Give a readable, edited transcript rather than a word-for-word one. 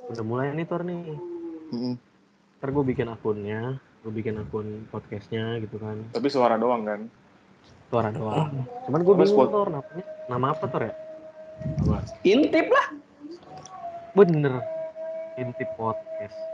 udah mulai nih Tor nih. Ntar gue bikin akunnya, gue bikin akun podcastnya gitu kan. Tapi suara doang kan? Suara doang. Cuman gue bingung Tor, namanya nama apa Tor ya? Apa? Intip lah. Bener, Intip Podcast.